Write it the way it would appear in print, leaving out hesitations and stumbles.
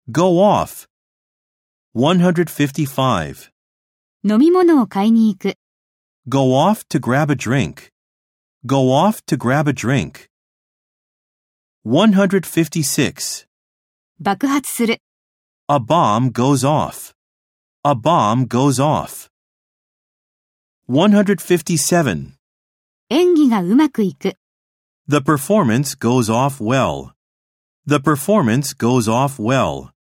Go off. 155. 飲み物を買いに行く。 Go off to grab a drink. Go off to grab a drink. 156. 爆発する。 A bomb goes off. A bomb goes off. 157. 演技がうまくいく。 The performance goes off well. The performance goes off well.